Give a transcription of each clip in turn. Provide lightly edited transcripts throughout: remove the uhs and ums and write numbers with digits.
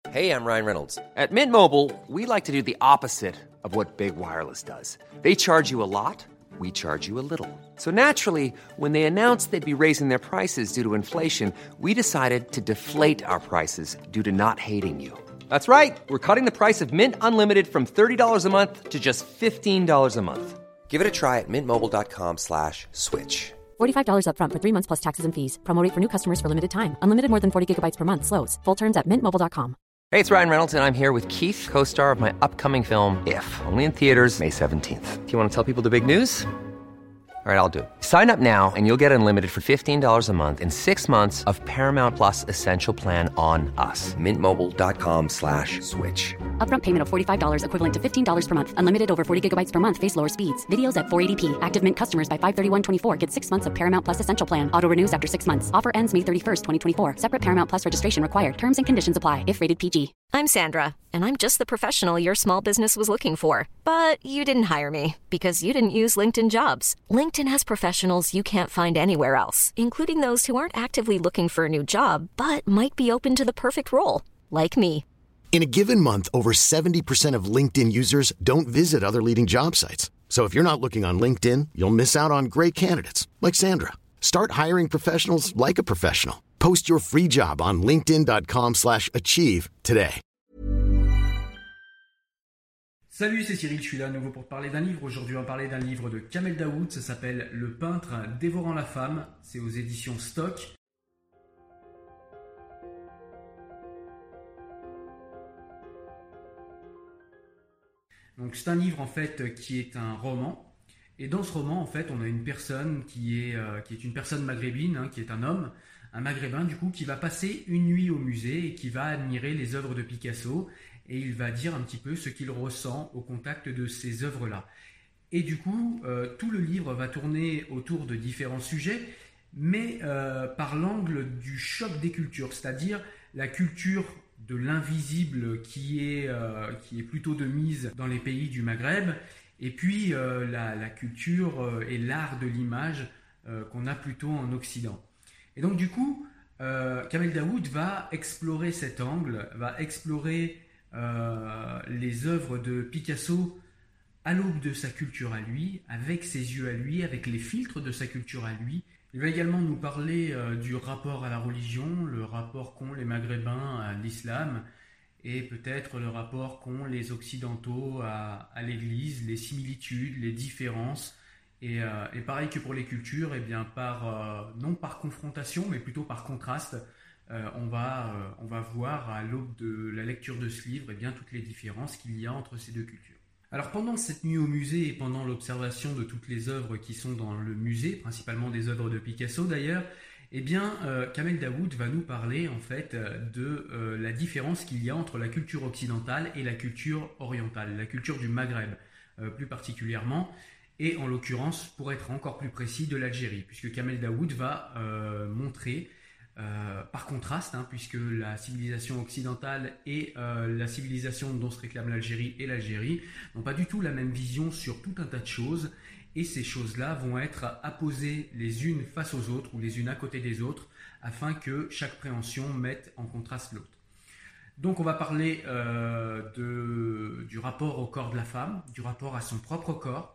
Hey, I'm Ryan Reynolds. At Mint Mobile, we like to do the opposite of what Big Wireless does. They charge you a lot, we charge you a little. So naturally, when they announced they'd be raising their prices due to inflation, we decided to deflate our prices due to not hating you. That's right. We're cutting the price of Mint Unlimited from $30 a month to just $15 a month. Give it a try at mintmobile.com/switch. $45 up front for 3 months plus taxes and fees. Promo rate for new customers for limited time. Unlimited more than 40 gigabytes per month. Slows full terms at mintmobile.com. Hey, it's Ryan Reynolds, and I'm here with Keith, co-star of my upcoming film, If, only in theaters May 17th. Do you want to tell people the big news? All right, I'll do it. Sign up now and you'll get unlimited for $15 a month and 6 months of Paramount Plus Essential Plan on us. mintmobile.com/switch. Upfront payment of $45 equivalent to $15 per month. Unlimited over 40 gigabytes per month. Face lower speeds. Videos at 480p. Active Mint customers by 531.24 get 6 months of Paramount Plus Essential Plan. Auto renews after 6 months. Offer ends May 31st, 2024. Separate Paramount Plus registration required. Terms and conditions apply if rated PG. I'm Sandra, and I'm just the professional your small business was looking for. But you didn't hire me because you didn't use LinkedIn Jobs. LinkedIn has professionals you can't find anywhere else, including those who aren't actively looking for a new job, but might be open to the perfect role, like me. In a given month, over 70% of LinkedIn users don't visit other leading job sites. So if you're not looking on LinkedIn, you'll miss out on great candidates like Sandra. Start hiring professionals like a professional. Post your free job on linkedin.com/achieve today. Salut, c'est Cyril, je suis là à nouveau pour te parler d'un livre. Aujourd'hui, on va parler d'un livre de Kamel Daoud, ça s'appelle Le peintre dévorant la femme, c'est aux éditions Stock. Donc c'est un livre en fait qui est un roman, et dans ce roman en fait on a une personne qui est une personne maghrébine, hein, qui est un homme, un maghrébin du coup, qui va passer une nuit au musée et qui va admirer les œuvres de Picasso, et il va dire un petit peu ce qu'il ressent au contact de ces œuvres-là. Et du coup, tout le livre va tourner autour de différents sujets, mais par l'angle du choc des cultures, c'est-à-dire la culture de l'invisible qui est plutôt de mise dans les pays du Maghreb, et puis la culture et l'art de l'image qu'on a plutôt en Occident. Et donc du coup, Kamel Daoud va explorer cet angle, va explorer les œuvres de Picasso à l'aube de sa culture à lui, avec ses yeux à lui, avec les filtres de sa culture à lui. Il va également nous parler du rapport à la religion, le rapport qu'ont les Maghrébins à l'islam, et peut-être le rapport qu'ont les Occidentaux à l'Église, les similitudes, les différences. Et pareil que pour les cultures, eh bien non par confrontation, mais plutôt par contraste, on va voir à l'aube de la lecture de ce livre, eh bien, toutes les différences qu'il y a entre ces deux cultures. Alors pendant cette nuit au musée et pendant l'observation de toutes les œuvres qui sont dans le musée, principalement des œuvres de Picasso d'ailleurs, eh bien Kamel Daoud va nous parler en fait de la différence qu'il y a entre la culture occidentale et la culture orientale, la culture du Maghreb plus particulièrement, et en l'occurrence, pour être encore plus précis, de l'Algérie, puisque Kamel Daoud va montrer par contraste, hein, puisque la civilisation occidentale et la civilisation dont se réclame l'Algérie et l'Algérie n'ont pas du tout la même vision sur tout un tas de choses, et ces choses-là vont être apposées les unes face aux autres ou les unes à côté des autres afin que chaque préhension mette en contraste l'autre. Donc on va parler du rapport au corps de la femme, du rapport à son propre corps.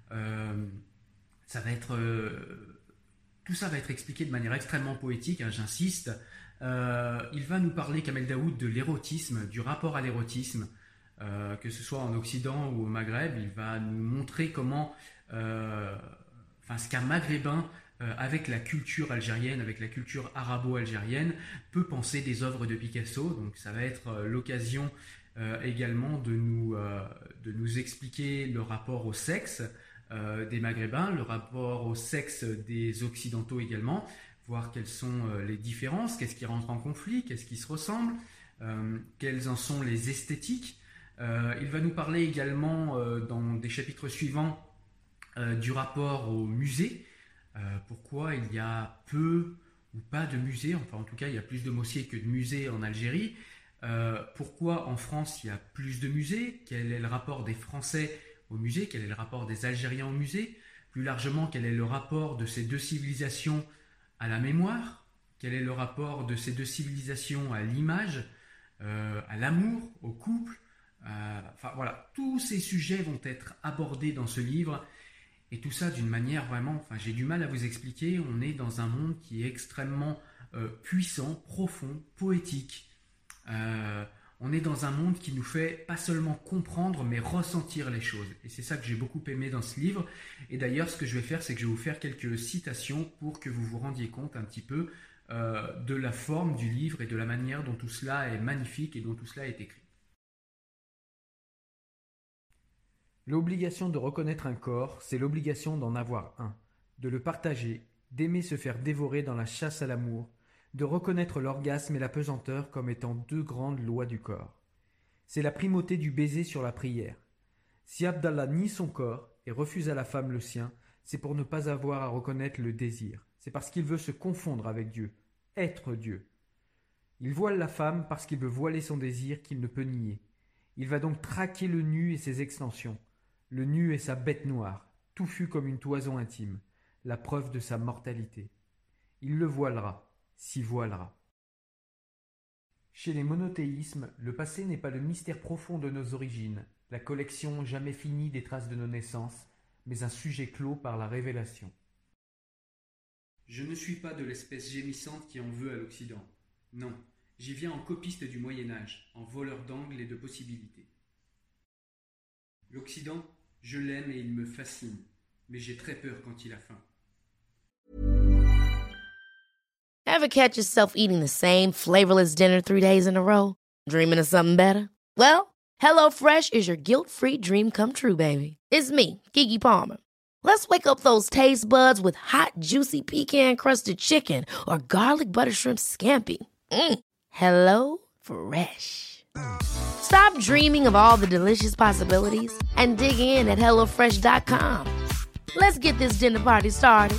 Tout ça va être expliqué de manière extrêmement poétique, hein, j'insiste. Il va nous parler, Kamel Daoud, de l'érotisme, du rapport à l'érotisme, que ce soit en Occident ou au Maghreb. Il va nous montrer comment, ce qu'un Maghrébin, avec la culture algérienne, avec la culture arabo-algérienne, peut penser des œuvres de Picasso. Donc ça va être l'occasion également de nous expliquer le rapport au sexe des Maghrébins, le rapport au sexe des Occidentaux également, voir quelles sont les différences, qu'est-ce qui rentre en conflit, qu'est-ce qui se ressemble, quelles en sont les esthétiques. Il va nous parler également dans des chapitres suivants du rapport au musée, pourquoi il y a peu ou pas de musées, enfin en tout cas il y a plus de mosquées que de musées en Algérie, pourquoi en France il y a plus de musées, quel est le rapport des Français au musée, quel est le rapport des Algériens au musée, plus largement quel est le rapport de ces deux civilisations à la mémoire, quel est le rapport de ces deux civilisations à l'image, à l'amour, au couple. Enfin voilà, tous ces sujets vont être abordés dans ce livre. Et tout ça d'une manière vraiment, j'ai du mal à vous expliquer. On est dans un monde qui est extrêmement puissant, profond, poétique. On est dans un monde qui nous fait pas seulement comprendre, mais ressentir les choses. Et c'est ça que j'ai beaucoup aimé dans ce livre. Et d'ailleurs, ce que je vais faire, c'est que je vais vous faire quelques citations pour que vous vous rendiez compte un petit peu de la forme du livre et de la manière dont tout cela est magnifique et dont tout cela est écrit. L'obligation de reconnaître un corps, c'est l'obligation d'en avoir un, de le partager, d'aimer se faire dévorer dans la chasse à l'amour, de reconnaître l'orgasme et la pesanteur comme étant deux grandes lois du corps. C'est la primauté du baiser sur la prière. Si Abdallah nie son corps et refuse à la femme le sien, c'est pour ne pas avoir à reconnaître le désir. C'est parce qu'il veut se confondre avec Dieu, être Dieu. Il voile la femme parce qu'il veut voiler son désir qu'il ne peut nier. Il va donc traquer le nu et ses extensions. Le nu est sa bête noire, touffu comme une toison intime, la preuve de sa mortalité. Il le voilera, s'y voilera. Chez les monothéismes, le passé n'est pas le mystère profond de nos origines, la collection jamais finie des traces de nos naissances, mais un sujet clos par la révélation. Je ne suis pas de l'espèce gémissante qui en veut à l'Occident. Non, j'y viens en copiste du Moyen-Âge, en voleur d'angles et de possibilités. L'Occident, je l'aime et il me fascine, mais j'ai très peur quand il a faim. Ever catch yourself eating the same flavorless dinner 3 days in a row? Dreaming of something better? Well, HelloFresh is your guilt-free dream come true, baby. It's me, Keke Palmer. Let's wake up those taste buds with hot, juicy pecan-crusted chicken or garlic butter shrimp scampi. Hello Fresh. Stop dreaming of all the delicious possibilities and dig in at HelloFresh.com. Let's get this dinner party started.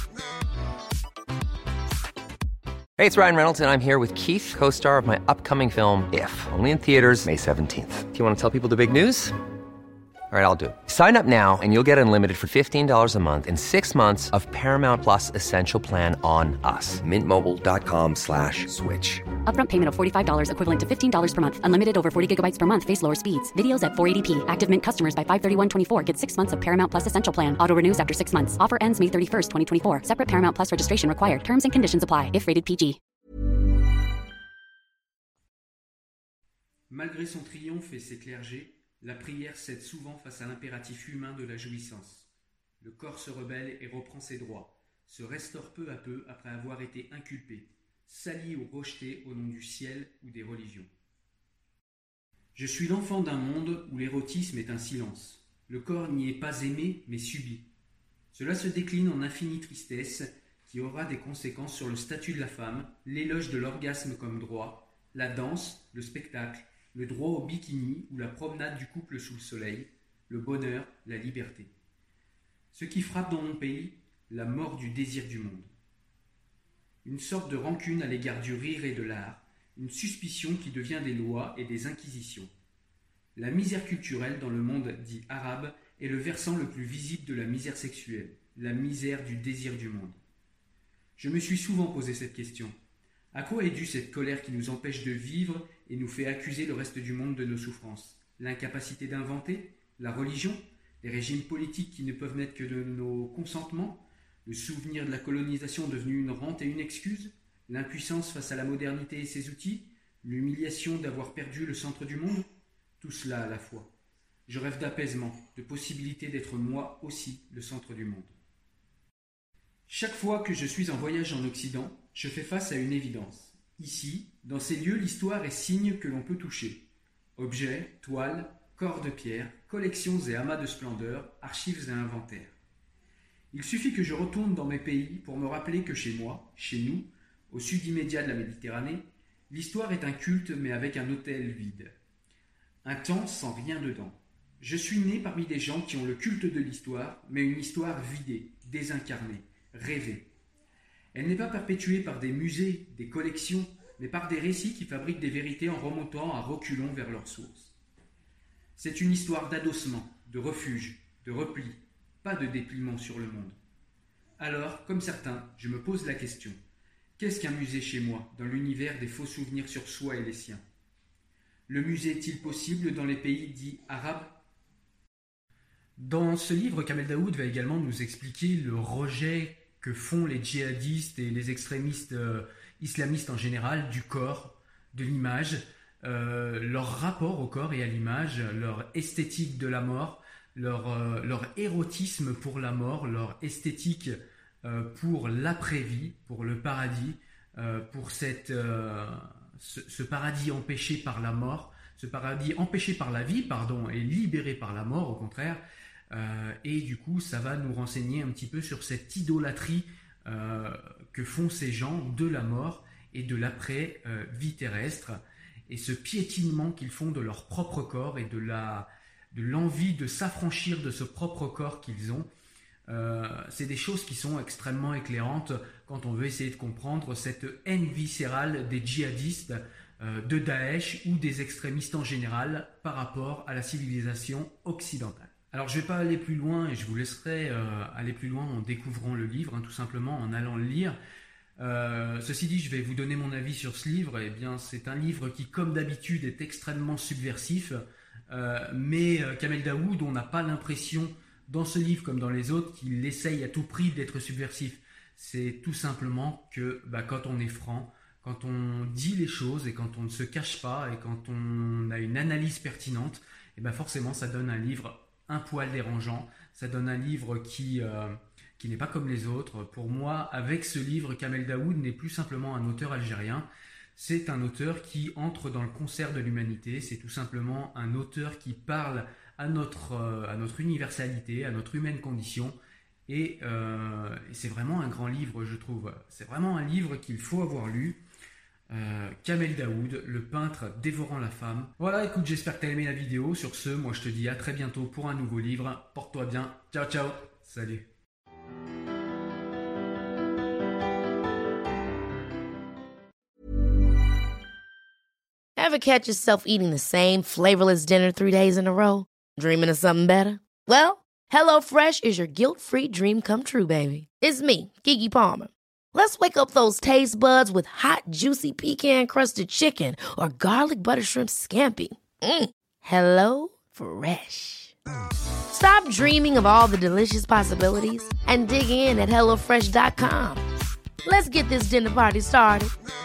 Hey, it's Ryan Reynolds, and I'm here with Keith, co-star of my upcoming film, If, only in theaters May 17th. Do you want to tell people the big news? All right, I'll do it. Sign up now and you'll get unlimited for $15 a month and 6 months of Paramount Plus Essential Plan on us. MintMobile.com/switch. Upfront payment of $45 equivalent to $15 per month. Unlimited over 40 gigabytes per month. Face lower speeds. Videos at 480p. Active Mint customers by 531.24 get 6 months of Paramount Plus Essential Plan. Auto renews after 6 months. Offer ends May 31st, 2024. Separate Paramount Plus registration required. Terms and conditions apply if rated PG. Malgré son triomphe et ses clergés, la prière cède souvent face à l'impératif humain de la jouissance. Le corps se rebelle et reprend ses droits, se restaure peu à peu après avoir été inculpé, sali ou rejeté au nom du ciel ou des religions. Je suis l'enfant d'un monde où l'érotisme est un silence. Le corps n'y est pas aimé, mais subi. Cela se décline en infinie tristesse qui aura des conséquences sur le statut de la femme, l'éloge de l'orgasme comme droit, la danse, le spectacle, le droit au bikini ou la promenade du couple sous le soleil, le bonheur, la liberté. Ce qui frappe dans mon pays, la mort du désir du monde. Une sorte de rancune à l'égard du rire et de l'art, une suspicion qui devient des lois et des inquisitions. La misère culturelle dans le monde dit arabe est le versant le plus visible de la misère sexuelle, la misère du désir du monde. Je me suis souvent posé cette question. À quoi est due cette colère qui nous empêche de vivre et nous fait accuser le reste du monde de nos souffrances? L'incapacité d'inventer? La religion? Les régimes politiques qui ne peuvent naître que de nos consentements? Le souvenir de la colonisation devenue une rente et une excuse? L'impuissance face à la modernité et ses outils? L'humiliation d'avoir perdu le centre du monde? Tout cela à la fois. Je rêve d'apaisement, de possibilité d'être moi aussi le centre du monde. Chaque fois que je suis en voyage en Occident, je fais face à une évidence. Ici, dans ces lieux, l'histoire est signe que l'on peut toucher. Objets, toiles, corps de pierre, collections et amas de splendeur, archives et inventaires. Il suffit que je retourne dans mes pays pour me rappeler que chez moi, chez nous, au sud immédiat de la Méditerranée, l'histoire est un culte mais avec un autel vide. Un temps sans rien dedans. Je suis né parmi des gens qui ont le culte de l'histoire, mais une histoire vidée, désincarnée, rêvée. Elle n'est pas perpétuée par des musées, des collections, mais par des récits qui fabriquent des vérités en remontant à reculons vers leur source. C'est une histoire d'adossement, de refuge, de repli, pas de dépliement sur le monde. Alors, comme certains, je me pose la question, qu'est-ce qu'un musée chez moi, dans l'univers des faux souvenirs sur soi et les siens? Le musée est-il possible dans les pays dits arabes ? Dans ce livre, Kamel Daoud va également nous expliquer le rejet que font les djihadistes et les extrémistes islamistes en général du corps, de l'image, leur rapport au corps et à l'image, leur esthétique de la mort, leur érotisme pour la mort, leur esthétique pour l'après-vie, pour le paradis, pour ce paradis empêché par la mort, ce paradis empêché par la vie, et libéré par la mort au contraire. Et du coup, ça va nous renseigner un petit peu sur cette idolâtrie que font ces gens de la mort et de l'après-vie terrestre, et ce piétinement qu'ils font de leur propre corps et de l'envie de s'affranchir de ce propre corps qu'ils ont. C'est des choses qui sont extrêmement éclairantes quand on veut essayer de comprendre cette haine viscérale des djihadistes, de Daesh ou des extrémistes en général par rapport à la civilisation occidentale. Alors je ne vais pas aller plus loin et je vous laisserai aller plus loin en découvrant le livre, tout simplement en allant le lire. Ceci dit, je vais vous donner mon avis sur ce livre. Eh bien, c'est un livre qui, comme d'habitude, est extrêmement subversif, mais Kamel Daoud, on n'a pas l'impression dans ce livre comme dans les autres qu'il essaye à tout prix d'être subversif. C'est tout simplement que quand on est franc, quand on dit les choses et quand on ne se cache pas et quand on a une analyse pertinente, forcément ça donne un livre un poil dérangeant, ça donne un livre qui n'est pas comme les autres. Pour moi, avec ce livre, Kamel Daoud n'est plus simplement un auteur algérien, c'est un auteur qui entre dans le concert de l'humanité, c'est tout simplement un auteur qui parle à notre universalité, à notre humaine condition, et c'est vraiment un grand livre, je trouve. C'est vraiment un livre qu'il faut avoir lu. Kamel Daoud, le peintre dévorant la femme. Voilà, écoute, j'espère que tu as aimé la vidéo. Sur ce, moi je te dis à très bientôt pour un nouveau livre. Porte-toi bien. Ciao, ciao. Salut. Ever catch yourself eating the same flavorless dinner 3 days in a row? Dreaming of something better? Well, HelloFresh is your guilt-free dream come true, baby. It's me, Keke Palmer. Let's wake up those taste buds with hot, juicy pecan-crusted chicken or garlic butter shrimp scampi. Hello Fresh. Stop dreaming of all the delicious possibilities and dig in at HelloFresh.com. Let's get this dinner party started.